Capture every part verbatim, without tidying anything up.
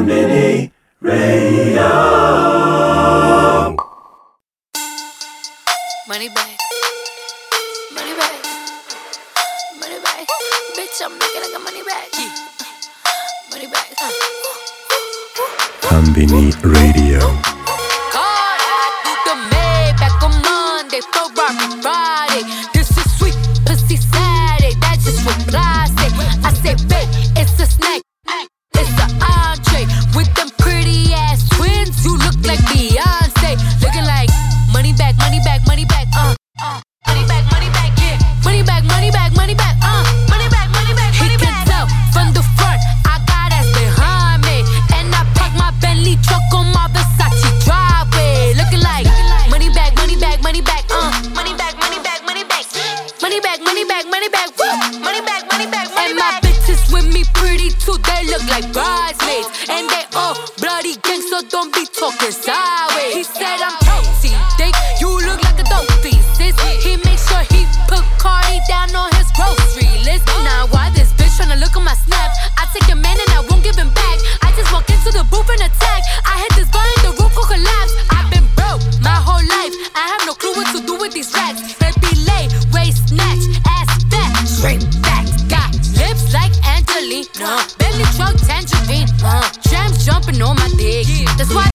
Konbini Radio. Money bag, money bag, money bag. Bitch, I'm making like a money bag. Money bag. Konbini Radio. God, I do the Maybach on Monday, Ferrari Friday. This is sweet, pussy Saturday. That's just what I say. I say, babe, it's a snack, it's an entree. With them pretty ass twins, you look like Beyonce. Looking like money bag, money bag, money bag, uh, uh. Money bag, money bag, yeah. Money bag, money bag, money bag, uh. Money bag, money bag, money bag. He can tell from the front, I got ass behind me. And I park my Bentley truck on my Versace driveway. Looking like money bag, money bag, money bag, uh. Money bag, money bag, money bag. Money bag, money bag, money bag, woo. Money bag, money bag, money bag. And my bitches with me pretty too, they look like bridesmaids. And they all bloody gang, so don't be talking sideways. He said I'm toasty, dick, you look like a dope piece, sis. He make sure he put Cardi down on his grocery list. Now why this bitch tryna look at my snap? I take your man and I won't give him back. I just walk into the booth and attack. I hit this button, the roof will collapse. I've been broke my whole life. I have no clue what to do with these racks. They be lay, waist snatch, ass fat, straight back. Got lips like Angelina, belly truck tangerine. Uh, Jams jumping on my dick. That's why.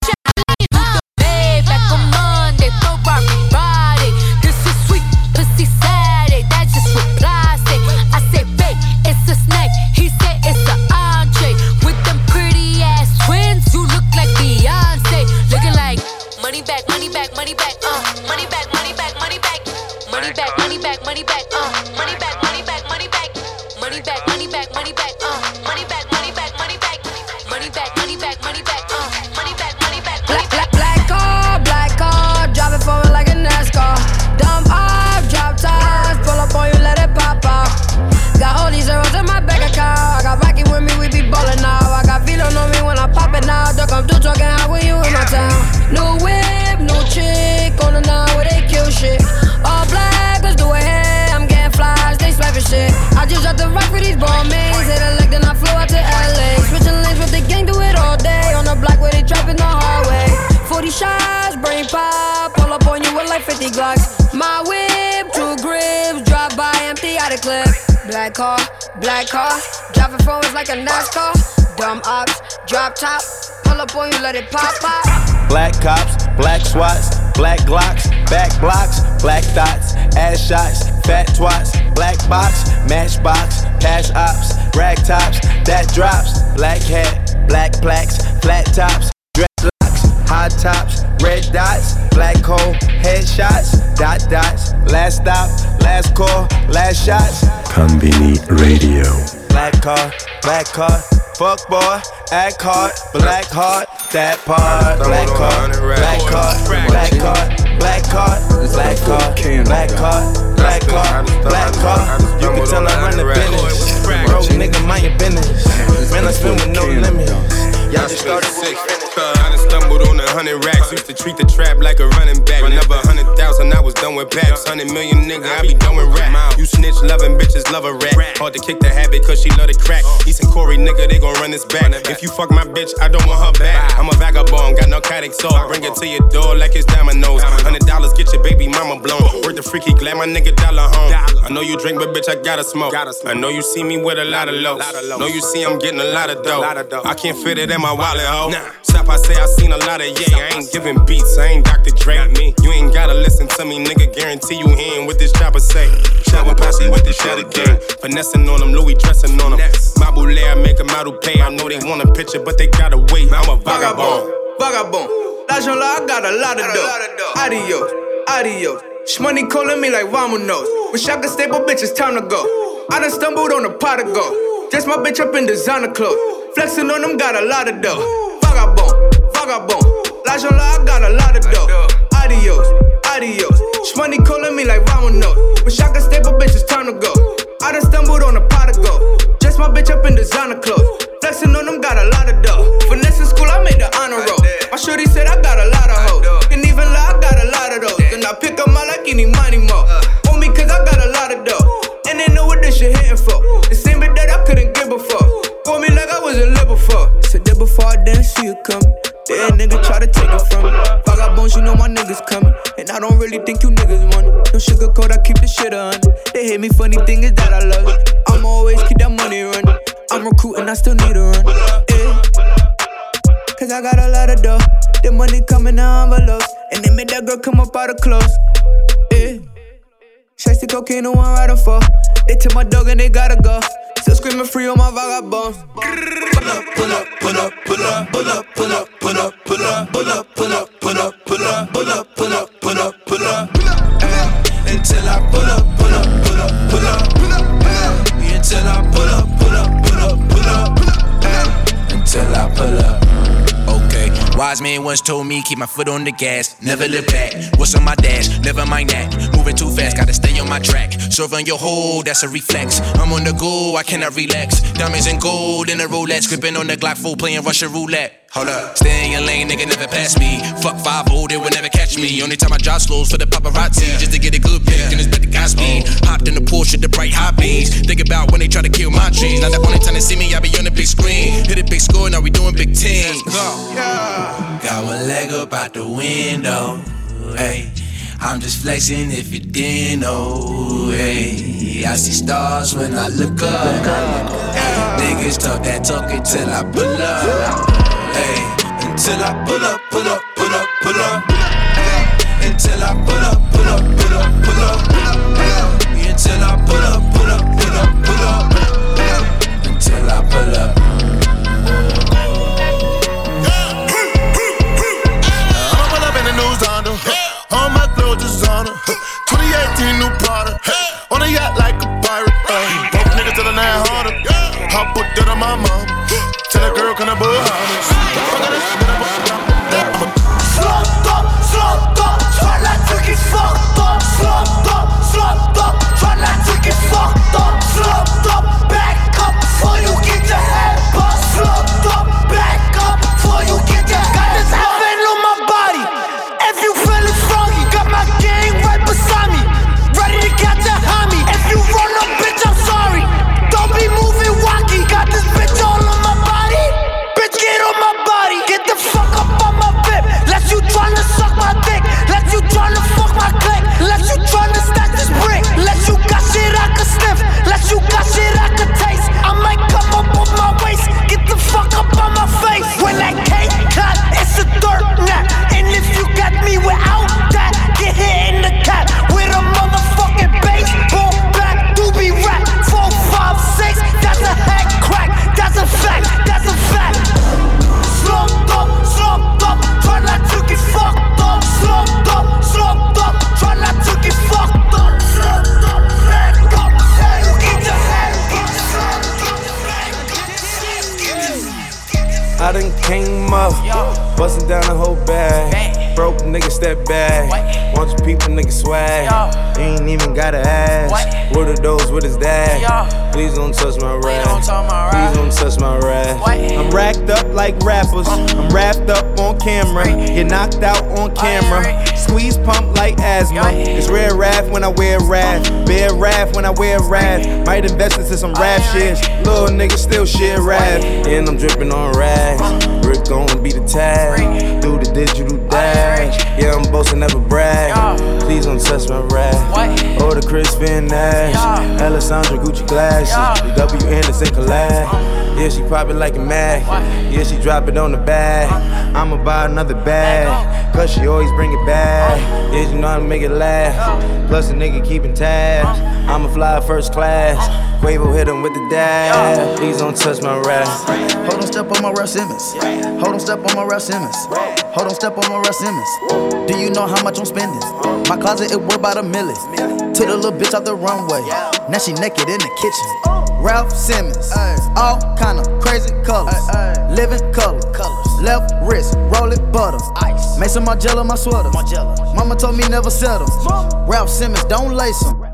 Black car, black car, driving forwards like a NASCAR. Dumb ops, drop top, pull up on you, let it pop pop. Black cops, black swats, black glocks, back blocks, black dots, ass shots, fat twats, black box, matchbox, pass ops, rag tops, that drops. Black hat, black plaques, flat tops, dreadlocks, high tops, red dots, black hole, headshots, dot dots, last stop, last call, last shots. Konbini Radio. Black car, black car, fuck boy, act hard, black heart, that part. Black car, black car, black car, black car, black car, black car, black car, black car. You can tell I run the business. Broke nigga, mind your business. Man, I spin with no limit. Y'all just started with I done stumbled on a hundred racks. Used to treat the trap like a running back. Never a hundred thousand, I was done with packs. Hundred million nigga, I be done with rap. You snitch loving bitches, love a rat. Hard to kick the habit cause she love the crack. East and Corey nigga, they gon' run this back. If you fuck my bitch, I don't want her back. I'm a vagabond, got narcotic soul. Bring it to your door like it's dominoes. Hundred dollars, get your baby mama blown. Worth the freaky, glad my nigga dollar home. I know you drink, but bitch, I gotta smoke. I know you see me with a lot of lows. Know you see I'm getting a lot of dough. I can't fit it in my wallet, ho. Stop, I say I seen a lot of yay. I ain't giving beats, I ain't Doctor Dre. Me, you ain't gotta listen to me, nigga. Guarantee you hearing what this chopper say. Shower posse with the shadow gang. Finessing on them, Louis dressing on them. My boule, I make them out who pay. I know they want a picture, but they gotta wait. I'm a vagabond. Vagabond. L'argent là, I got a lot of dough. Adios, adios. Shmoney calling me like vamonos. Wish I could stay, but bitch, it's time to go. I done stumbled on a pot of gold. Dress my bitch up in designer clothes. Flexing on them, got a lot of dough. Vagabond, vagabond. L'argent là, I got a lot of dough. Adios, adios. Shmoney calling me like vamonos. Wish I could stay, but bitch, it's time to go. I done stumbled on a pot of gold. Dress my bitch up in designer clothes. Flexing on them, got a lot of dough. Finesse in school, I made the honor roll. My shorty said I got a lot of hoes. Can even lie, I got a lot of those. Then I pick up my like any money more. On me, cause I got a lot of dough. And they know what this shit hitting for. The same bit that I couldn't give before. For me like I wasn't live before. Said that before I didn't see it coming. Dead nigga try to take it from me. Vagabonds, you know my niggas coming. And I don't really think you niggas want it. No sugarcoat, I keep the shit under. They hate me, funny thing is that I love it. I'ma always keep that money running. I'm recruiting, I still need a run. Yeah. Cause I got a lot of dough. The money coming in envelopes. And they made that girl come up out of clothes. Yeah. Chase the cocaine, the one riding for. They took my dog and they gotta go. Still screaming free on my vagabonds. Pull up, pull up, pull up, pull up, pull up, pull up, pull up, pull up, pull up, pull up, pull up, pull up, pull up, pull up, pull up, pull up, until I pull up, pull up, pull up, pull up, pull up, until I pull up, pull up, pull up, pull up, until I pull up. Okay, wise man once told me keep my foot on the gas, never look back. What's on my dash? Never mind that. Moving too fast, gotta stay on my track. Serving your hold, that's a reflex. I'm on the go, I cannot relax. Diamonds and gold in a Rolex, gripping on the Glock full, playing Russian roulette. Hold up, stay in your lane, nigga, never pass me. Fuck five oh, they will never catch me. Only time I drop slows for the paparazzi, just to get a good pic, and it's better Godspeed. Hopped in the Porsche, the bright high beams. Think about when they try to kill my dreams. Now the only time they see me, I be on the big screen. Hit a big score, now we doing big teams. Yeah. Got one leg up out the window, hey. I'm just flexing if you didn't know, hey. I see stars when I look up, hey. Niggas talk that talk until I pull up, hey. Until I pull up, pull up, pull up, pull up, hey. Until I pull up, pull up, pull up, pull up, hey. Until I pull up, pull up, pull up, pull up, hey. Until I pull up. I'ma pull up in the news Honda. All my clothes designer. twenty eighteen new product. On a yacht like a pirate. Broke niggas to the nine hundred. I put that on my mom. Tell a girl can I buy harness. Slumped up, slumped up. Try not to get fucked up. Slumped up, slumped up. Try not to get fucked up. Slumped up, back up before you get your head bust. Slumped up, back up before you get your head bust. Got this heaven on my body. If you feeling froggy, got my gang right beside me, ready to catch a homie. If you run up, bitch, I'm sorry. Don't be moving wacky. Got this bitch all on my body. Bitch, get on my body. Get the fuck up on my bib. Let you tryna suck my dick. Let you tryna fuck my click. Let you tryna stack this brick. Let you got shit I could sniff. Let you got shit I could taste. I might come up on my waist. Get the fuck up on my face. When that cake cut, it's a dirt nap. And if you got me without that, get hit in the cap with a motherfucking baseball bat. Doobie rap, four, five, six. That's a head crack. That's a fact. That's a fact. Slumped up, slumped up. Try not to get fucked up. Slumped up, slumped up. Try not to get fucked up. Slumped up, back up. Hey, get your head. I done came up, bustin' down the whole bag. Broke nigga step back. Want your people nigga swag. You ain't even gotta ask. What are those with his dad? Please don't touch my rap. Please don't touch my rap. I'm racked up like rappers. I'm wrapped up on camera. Get knocked out on camera. Squeeze pump like asthma. It's rare wrath when I wear wrath. Bear wrath when I wear wrath. Might invest into some rap shit. Little nigga still shit rap. And I'm dripping on rags. Rick gon' be the tag. Do the digital dash. Yeah, I'm boasting, never brag. Please don't touch my rap. Oh, the Chris Finn Nash. Alessandra Gucci glasses. The W Anderson collab. Yeah, she pop it like a Mac. Yeah, she drop it on the bag. I'ma buy another bag. Cause she always bring it back. Yeah, you know how to make it last. Plus a nigga keeping tabs. I'ma fly first class. Quavo hit him with the dab. Please don't touch my rap. Hold on, step on my Ralph Simmons. Hold on, step on my Ralph Simmons. Hold on, step on my Ralph Simmons. Do you know how much I'm spending? My closet, it worth about a million. Took the little bitch out the runway. Now she naked in the kitchen. Ralph Simmons. All kind of crazy colors. Living color. Left wrist, roll it butter. Made some Margiela my sweater. Mama told me never settle. Ralph Simmons, don't lace him.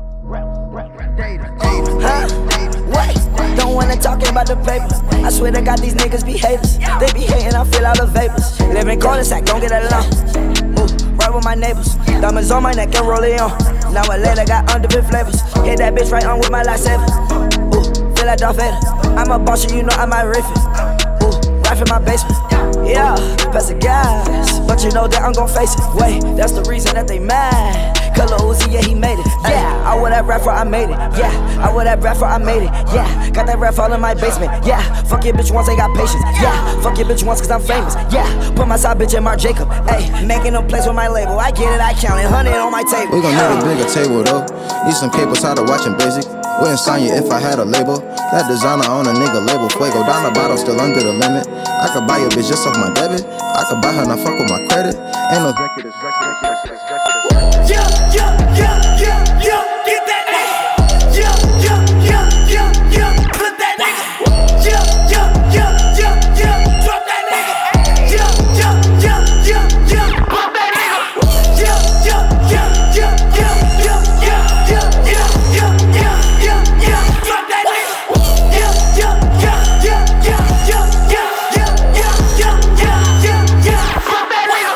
Huh? What? Don't wanna talk about the paper. I swear to God, these niggas be haters. They be hating, I feel all the vapors. Live in cul-de-sac, don't get along. Ooh, right with my neighbors. Diamonds on my neck and roll it on. Now a later got underbit flavors. Hit that bitch right on with my lightsaber. Ooh, feel like Darth Vader. I'm a boss, you know I might riff it. Ooh, right in my basement. Yeah, pass the gas, but you know that I'm gon' face it. Wait, that's the reason that they mad. Color Uzi, yeah, he made it. Yeah, I wear that rapper, I made it. Yeah, I wear that rapper, I made it. Yeah, got that rap all in my basement. Yeah, fuck your bitch once, ain't got patience. Yeah, fuck your bitch once, cause I'm famous. Yeah, put my side bitch in Marc Jacob. Ayy, making them plays with my label. I get it, I count it, hundred on my table. We gon' need a bigger table though. Need some cable tired of watching Basic. Wouldn't sign you if I had a label. That designer on a nigga label. Fuego down the bottle, still under the limit. I could buy your bitch just off my debit. I could buy her, not fuck with my credit. Ain't no executives, executives, executives. Yeah, yeah, yeah, yeah, yeah. Get that nigga. Yeah, yeah, yeah, yeah, yeah. Put that nigga. Yeah, yeah, yeah, yeah, yeah. Drop that nigga. Yeah, yeah, yeah, yeah, yeah. Pop that nigga. Yeah, yeah, yeah, yeah, yeah, yeah, yeah, yeah, yeah, yeah, yeah, yeah, yeah. Drop that nigga. Yeah, yeah, yeah, yeah, yeah, yeah, yeah, yeah, yeah, yeah, yeah, yeah, yeah. Pop that nigga.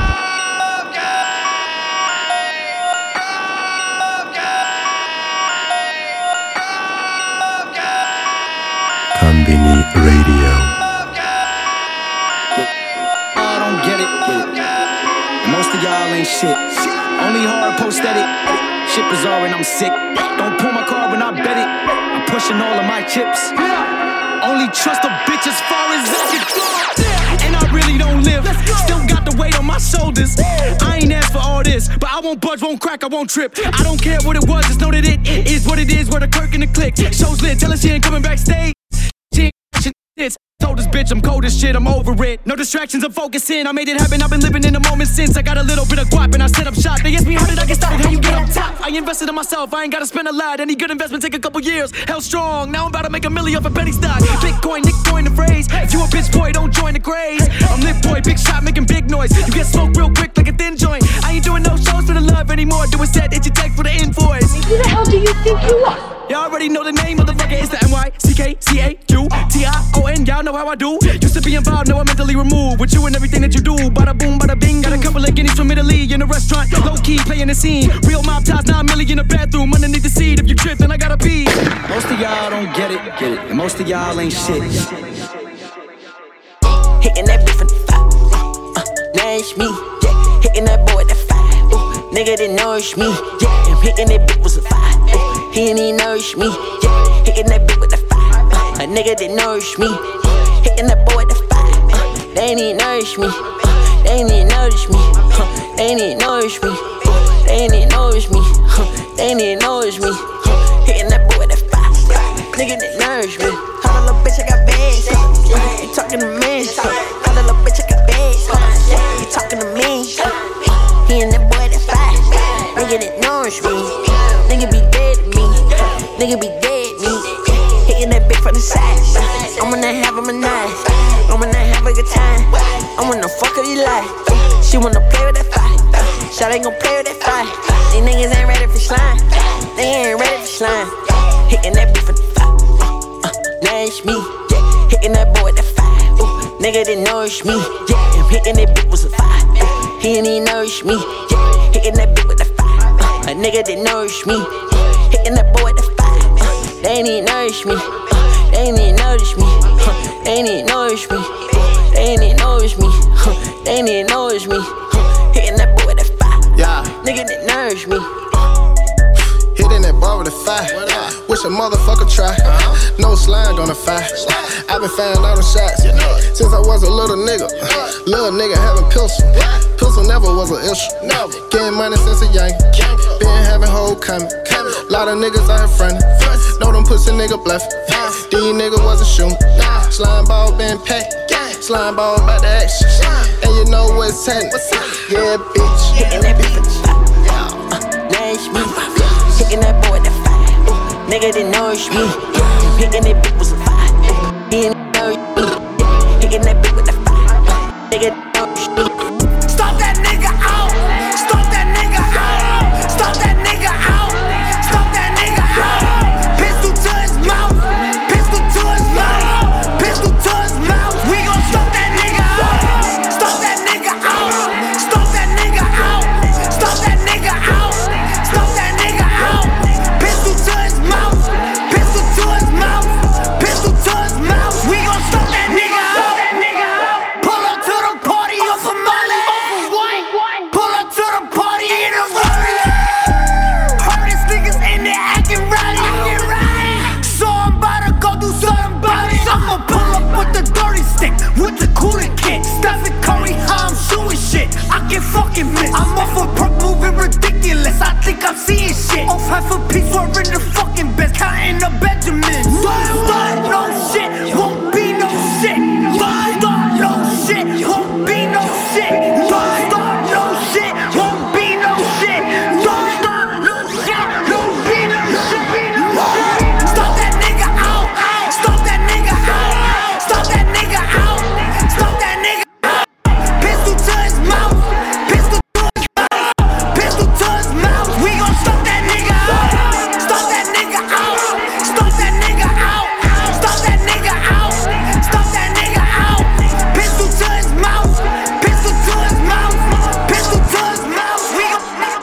Konbini Radio. I don't get it, get it. And most of y'all ain't shit. Only hard post edit. Shit bizarre and I'm sick. Don't pull my card when I bet it. I'm pushing all of my chips. Only trust a bitch as far as I can go. And I really don't live. Still got the weight on my shoulders. I ain't asked for all this, but I won't budge, won't crack, I won't trip. I don't care what it was, just know that it is what it is. Where the Kirk and the click. Show's lit, tell her she ain't coming backstage. She ain't this. Told this bitch I'm cold as shit, I'm over it. No distractions, I'm focusing. I made it happen, I've been living in the moment since. I got a little bit of guap and I set up shop. They asked me how did I get started, how you get up top. I invested in myself, I ain't gotta spend a lot. Any good investment take a couple years. Hell strong, now I'm about to make a million off a penny stock. Bitcoin, Nick coin the phrase. If you a bitch boy, don't join the craze. I'm lit boy, big shot, making big noise. You get smoked real quick like a thin joint. I ain't doing no shows for the love anymore. Do a set, it's your text for the invoice. Who the hell do you think you are? Y'all already know the name of the fucker, it's the N Y C K C A Q T I O N, y'all know how I do. Used to be involved, now I'm mentally removed. With you and everything that you do, bada boom, bada bing. Got a couple of guineas from Italy in a restaurant, low key playing the scene. Real mob ties, nine million in the bathroom, underneath the seat. If you trip, then I gotta pee. Most of y'all don't get it, get it, and most of y'all ain't shit. Hitting that beef in the five, uh, uh, nourish me, yeah. Hitting that boy at the five, ooh, nigga that nourish me, yeah. I'm hitting that bitch with a five, ooh, he ain't even nourish me, yeah. Hitting that bitch with a five, uh, a nigga that nourish me, uh, hitting that boy at the five, uh, they ain't even nourish me, uh, they ain't even nourish me, uh, they ain't even nourish me, uh, they ain't even nourish me, uh, they ain't even nourish me, uh, hitting that boy at the five, uh, nigga that nourish me. Hold on, little bitch, I got bands. Uh, you talking to me? Hold on, little bitch, I got bands. Uh, you talking to me? Uh, he and that boy that fight. Nigga that nourish me. Nigga be dead to me. Nigga be dead to me. Hitting that bitch from the side. Uh, I'm gonna have him a night. I'm gonna have a good time. I wanna fuck her, you like. Uh, she wanna play with that fight. Uh, Shawty ain't gon' play with that fight. These niggas ain't ready for slime. They ain't ready for slime. Hitting that bitch from the nourish me, yeah. Hitting that boy at the five, ooh, nigga that nourish me, yeah. I'm hitting that bitch with a five, ooh, he ain't even nourish me, yeah. Hitting that bitch with a five, uh, a nigga that nourish me, uh, hitting that boy at the five, uh, they ain't even nourish me, uh, they ain't even nourish me, uh, they ain't even nourish me, uh, they ain't even nourish me, uh, they ain't even nourish me, uh, hitting that boy at the five, yeah. Nigga that nourish me. Hitting that bar with a five. Wish a motherfucker try. Uh-huh. No slime on the five. I've been finding all the shots since I was a little nigga. Little nigga having pistol. Pistol never was an issue. Getting money since a young. Been having whole coming. Lot of niggas out here frontin'. Know them pussy nigga bluffin'. These niggas wasn't shootin'. Slime ball been packed. Slime ball about the action. And you know what's happening. Yeah, bitch. Hitting that bitch for the five. Uh, nourish me. Hitting that boy at the five, ooh, nigga that nourish me, yeah. Hitting that bitch with a five, ooh, he ain't nourish me, yeah. Hitting that bitch with a five, uh, nigga that nourish me. Stop that nigga out! Stop that nigga out! Stop that nigga out! Stop that nigga out! Pistol to his mouth! Pistol to his mouth! Pistol to his mouth! We gon' stop that nigga out! Stop that nigga out! Stop that nigga out! Stop that nigga out! Stop that nigga out! Pistol to his mouth! Pistol to his mouth! Pistol to his mouth! We gon' stop that nigga out! with the cooler kit. Stephen Curry, how I'm shooting shit. I can fucking miss. I'm off a perk moving ridiculous. I think I'm seeing shit. Off half a piece, we're in the fucking bed, counting the Benjamins. Start no shit, won't be no shit. Start no shit, won't be no shit. Start no shit, won't be no shit. Start no shit, won't be no shit. Stop that nigga out. Stop that nigga out. Stop that nigga out. Stop that nigga out. Pistol to his mouth. Pistol to his mouth. Pistol to his mouth. We gon' stop that nigga out. Stop that nigga out. Stop that nigga out. Stop that nigga out. Stop that nigga out. Pistol to his mouth. Pistol to his mouth. Pistol to his mouth. We gon'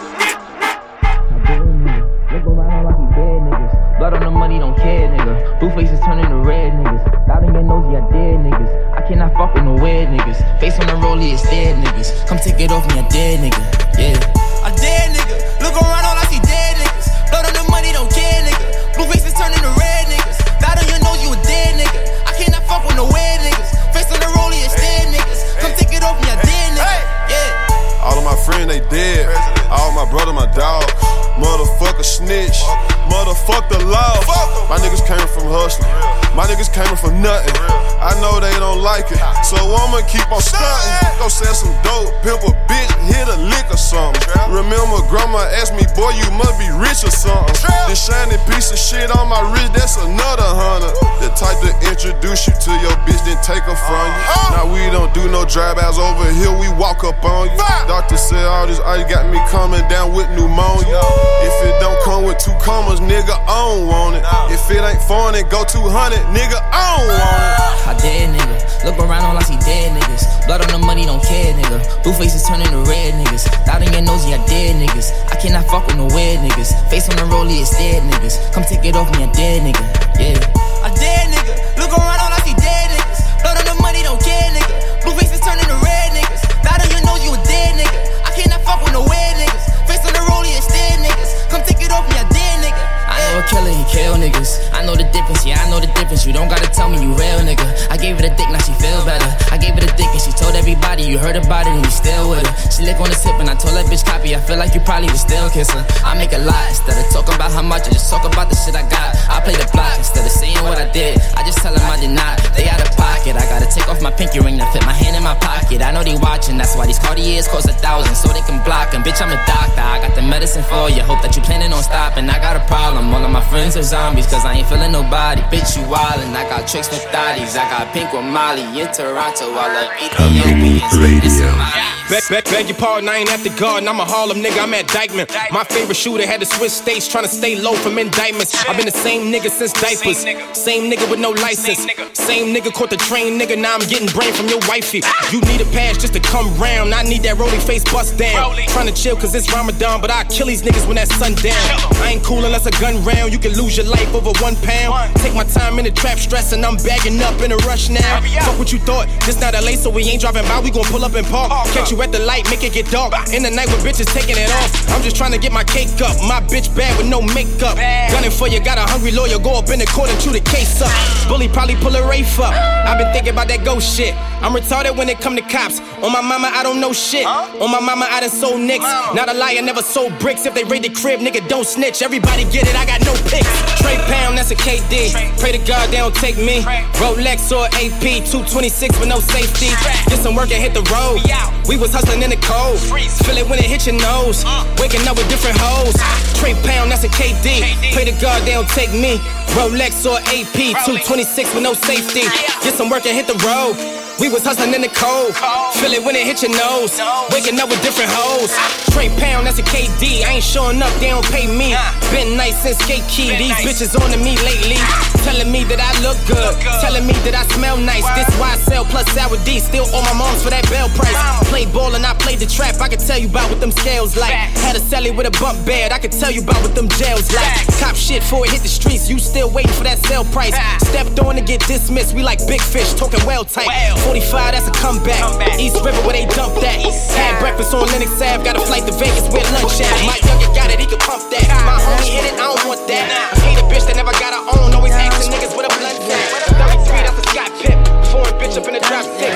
Look around like he dead niggas. Blood on the money, don't care, nigga. Blue faces turning to red niggas. Thought in your nose, yeah, dead niggas. I cannot fuck with no weird niggas. Face on the rollie, it's dead niggas. Come take it off me, a dead nigga. Yeah. A dead nigga. Look around, all I see dead niggas. Blood on the money, don't care, nigga. Blue faces turning to red niggas. Thought on your nose, you a dead nigga. I cannot fuck with no weird niggas. Face on the rollie, it's dead niggas. Come take it off me, a dead nigga. Yeah. All of my friends, they dead. All my brother, my dog. Motherfucker snitch. Motherfuck the law. My niggas came from hustling. My niggas came from nothing. I know they don't like it, so I'ma keep on stunting. Go sell some dope, pimp a bitch, hit a lick or something. Remember grandma asked me, boy, you must be rich or something. This shiny piece of shit on my wrist, that's another hundred. The type to introduce you to your bitch, then take her from you. Now we don't do no drive-outs over here, we walk up on you. Doctor said all this ice got me coming down with pneumonia. If it don't come with two commas, nigga, I don't want it. If it ain't foreign, it go two hundred, nigga, I don't want it. I dead nigga. Look around, all I see dead niggas. Blood on the money, don't care, nigga. Blue faces turning to red niggas. Thought in your nose, yeah, dead niggas. I cannot fuck with no weird niggas. Face on the rollie, it's dead niggas. Come take it off me, a dead nigga. Yeah. A dead nigga. Look around, all I see dead niggas. Blood on the money, don't care, nigga. Blue faces turning to red niggas. Thought on your nose, you a dead nigga. I cannot fuck with no weird niggas. Face on the rollie, it's dead niggas. Come take it off me, a dead nigga. I know a killer, he kill niggas. I know the difference, yeah, I know the difference. You don't gotta tell me you real, nigga. I gave her the dick, now she feel better. I gave her the dick and she told everybody you heard about it and you still with her. She lick on the tip and I told that bitch copy. I feel like you probably would still kiss her. I make a lot instead of talking about how much. I just talk about the shit I got. I play the block instead of saying what I did. I just tell them I did not. They out of pocket. I gotta take off my pinky ring to fit my hand in my pocket. I know they watching, that's why these Cartiers cost a thousand so they can block them. Bitch, I'm a doctor. I got the medicine for you. Hope that you planning on stopping. I got a problem. All of my friends are zombies, cause I ain't feeling nobody. Bitch, you wildin'. I got tricks with thotties. I got pink with Molly in Toronto. I love Hamini Radio. Beg, beg, beg your pardon, I ain't at the garden. I'm a Harlem nigga, I'm at Dykeman. My favorite shooter had to switch states, trying to stay low from indictments. I've been the same nigga since diapers. Same nigga with no license. Same nigga caught the train, nigga. Now I'm getting brain from your wifey. You need a pass just to come round. I need that rolling face bust down. Trying to chill cause it's Ramadan, but I kill these niggas when that sun down. I ain't cool unless a gun round. You can lose your life over one pound. Take my time in the trap, stressing. I'm bagging up in a rush now. Fuck what you thought. This not L A, so we ain't driving by. We gon' pull up and park. Catch you at the light, make it get dark. In the night with bitches taking it off. I'm just trying to get my cake up. My bitch bad with no makeup. Gunning for you, got a hungry lawyer. Go up in the court and chew the case up. Bully probably pull a Rafe up. I've been thinking about that ghost shit. I'm retarded when it come to cops. On my mama, I don't know shit. On my mama, I done sold nicks. Not a liar, never sold bricks. If they raid the crib, nigga, don't snitch. Everybody get it, I got no picks. Trey Pound, that's a K D. Pray to God they don't take me. Rolex or A P, two twenty-six with no safety. Get some work and hit the road. We was hustling in the cold. Feel it when it hit your nose. Waking up with different hoes. Trey Pound, that's a K D. Pray to God they don't take me. Rolex or A P, two twenty-six with no safety. Get some work and hit the road. We was hustling in the cold. Feel it when it hit your nose. Waking up with different hoes. Trey Pound, that's a K D. I ain't showing up, they don't pay me. Been nice since Skate Key. These bitches on to me lately. Telling me that I look good. Telling me that I smell nice. This why I sell plus sour D. Still owe my moms for that bell price. Play ball and I played the trap. I can tell you about what them scales like. Had a celly with a bump bed. I can tell you about what them jails like. Cop shit before it hit the streets. You still waiting for that sale price. Stepped on to get dismissed. We like big fish, talking well tight. forty-five, that's a comeback. East River where they dumped that. Had breakfast on Lennox Ave. Got a flight to Vegas where lunch at. My younger got it, he can pump that. My homie hit it, I don't want that. Hate a bitch that never got her own. Always asking niggas with a blunt at. thirty-three, that's a Scott Pip. Foreign bitch up in the drop six.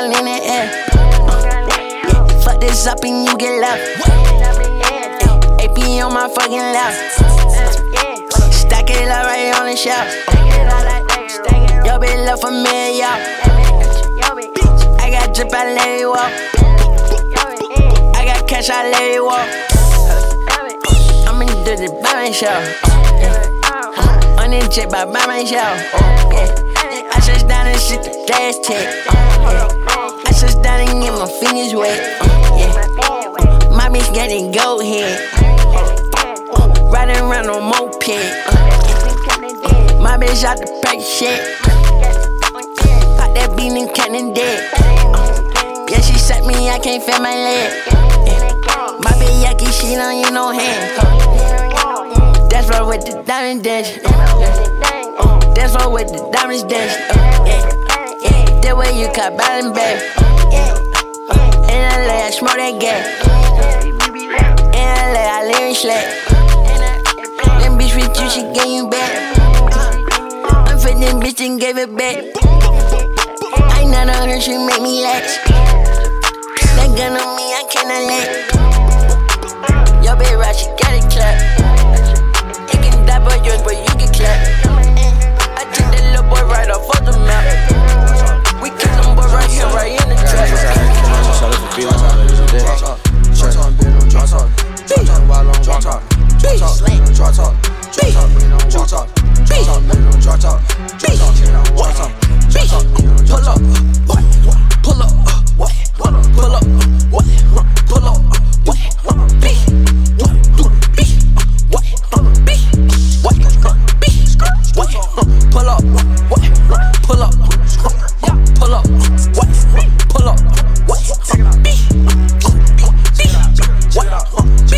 all in the air. Yeah, fuck this up and you get left. A P on my fucking left. Stack it up right on the shelf. Yo, bitch, love for me, yo. I got drip, I let it walk. I got cash, I let it walk. I'm in the by myself. On the jet by myself. I just down and shit the gas check. I just down and get my fingers wet. My bitch getting go head. Riding around on moped. My bitch out the pack shit. Pop that bean and cannon dead. Yeah, she set me, I can't feel my leg. My bitch yucky, she don't use no hand. That's right with the diamond dash. That's right with the diamonds dash. That way you cut bottom back. In L A, I smoke that gas. In L A, I live in slack. Them bitch with you, she gave you back. I'm for them bitch and gave it back. I ain't none of her, she make me lax. That gun on me, I cannot let. Yo, bitch, right, she got it clapped. It can die by yours, but you get clapped. I took that little boy right off of the map. We kill them boy right here, right in the trap. Pull up, pull up, pull up, pull up, pull up, B, do B, what, B, what, B, what, pull up, what, pull up, yeah, pull up, what, pull up, what, B, B, what, B,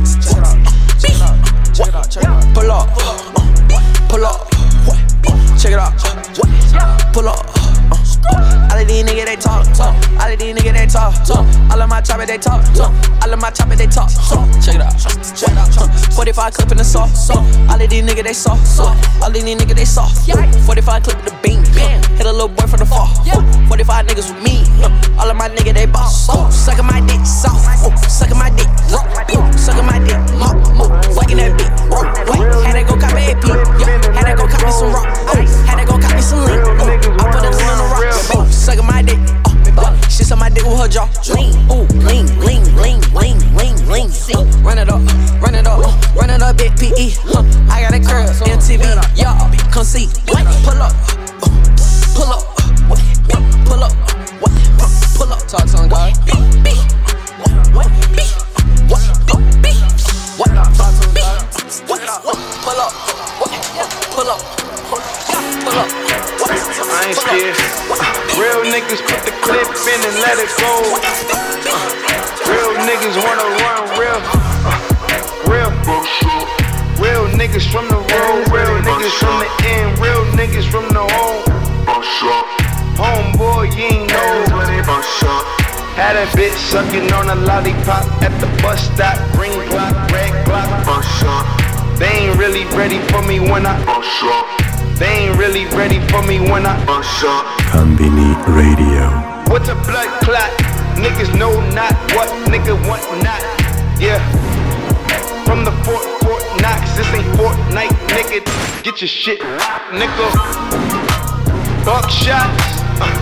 B, pull up, pull up, check it out, pull up. All of these niggas, they talk, talk. All of these niggas, they talk, talk. All of my choppers, they talk, talk. All of my choppers, they talk, talk. Check it out, check it out. forty-five clip in the sauce, all of these niggas, they soft, soft. All of these niggas, they soft. forty-five clip in the beam, hit a little boy from the fall. forty-five niggas with me, all of my niggas, they boss. Suckin' my dick, soft. Suckin' my dick, suckin' my dick, fucking that beat. Had to go copy A P, had to go copy some rock, had to go copy some link. I put a lean on the rock. Suckin' my dick, uh, she suck my dick with her jaw. Lean, ooh, lean, lean, lean, lean, lean, lean. Uh, run it up, run it up, uh, run it up, big P E. Uh, I got a curl, M T V, y'all come see. Pull up, uh, pull up, uh, pull up, uh, pull up. Talk to him, God. B, B, what, B, what, B, what, talk to him, God. Pull up, what, pull up, pull up. I ain't scared. Real niggas put the clip in and let it go. Uh, real niggas wanna run real. Uh, real. Real niggas from the road. Real niggas from the end. Real niggas from the home. Homeboy, you ain't know. Had a bitch sucking on a lollipop at the bus stop. Green block, red block. They ain't really ready for me when I They ain't really ready for me when I Konbini Radio. What's a blood clot? Niggas know not what nigga want not. Yeah. From the Fort Fort Knox, this ain't Fortnite, nigga. Get your shit, nigga. Buckshots. Uh.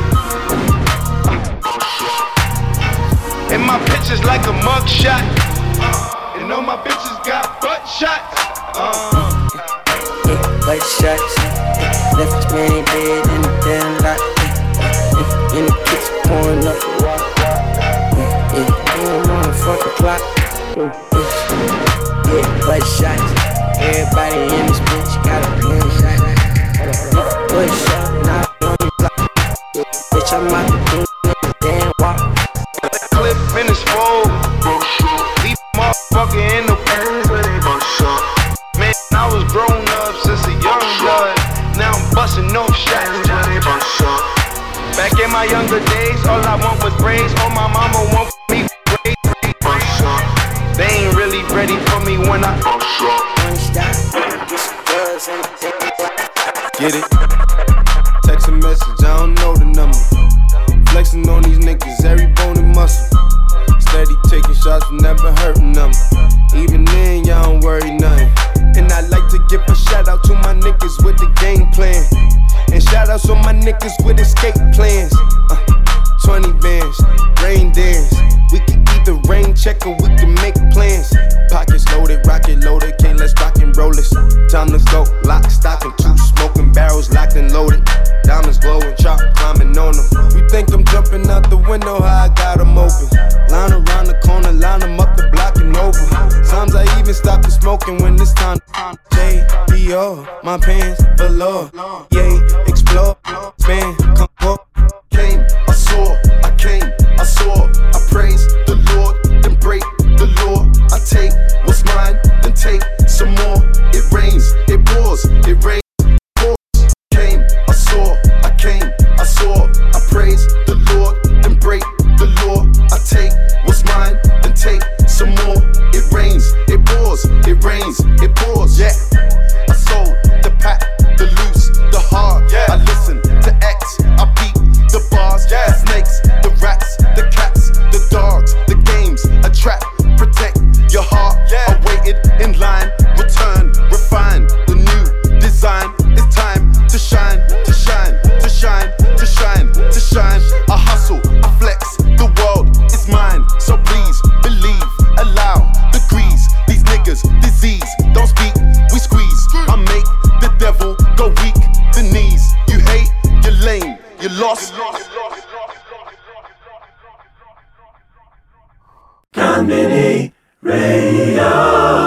And my pictures like a mugshot. Uh. And all my bitches got butt shots. Uh. Yeah, butt shots. Left his man dead in the damn lot. In the kitchen pouring up the water. Yeah, yeah, damn motherfucking clock. Yeah, butt shots. Everybody in this bitch got a damn shot. Butt shot, not on the block. Bitch, I'm out the king in the damn walk. Clip in his fold. Leave motherfucker in the pants where they bust shot. Man, I was grown up since a young blood. Now I'm busting no shots. Back in my younger days, all I want was braids. All my mama want me braids. They ain't really ready for me when I get it. Text a message, I don't know the number. Flexing on these thoughts never hurting them. Even then, y'all don't worry nothing. And I like to give a shout out to my niggas with the game plan. And shout outs on my niggas with escape plans. Uh, twenty bands, rain dance. We can either rain check or we can make plans. Pockets loaded, rocket loaded, okay, let's rock and roll this. Time to go, lock, stock, and two smoking barrels locked and loaded. Diamonds glowing, chop climbing on them. You think I'm jumping out the window, how I got them open. Line around the corner, line them up the block and over. Sometimes I even stop the smoking when it's time to J B O, my pants below. Yay, explore, span, come up. Came, I saw, I came, I saw, I praise the Lord, then break the law. I take what's mine, then take some more. It rains, it pours, it rains, pours. Came, I saw, I came, I saw, I praise the Lord, then break the law. I take what's mine, then take some more. It rains, it pours, it rains, it pours. Yeah, I sold the pack, the loose, the hard. Yeah, I listen to X, I beat the bars, yeah. The snakes, the rats, the cats, the dogs, the games, a trap, protect your heart. Yeah. I waited in line, return, refine the new design. It's time to shine, to shine, to shine, to shine, to shine. I hustle, I flex, the world is mine. So please believe, allow the grease. These niggas, disease, don't speak, we squeeze. I make the devil go weak, the knees. You hate, you're lame, you lost. Conbini Radio.